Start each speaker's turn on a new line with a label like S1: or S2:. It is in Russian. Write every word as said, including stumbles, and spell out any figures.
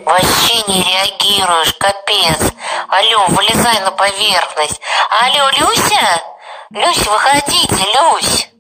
S1: Вообще не реагируешь, капец. Алло, вылезай на поверхность. Алло, Люся? Люся, выходите, Люсь.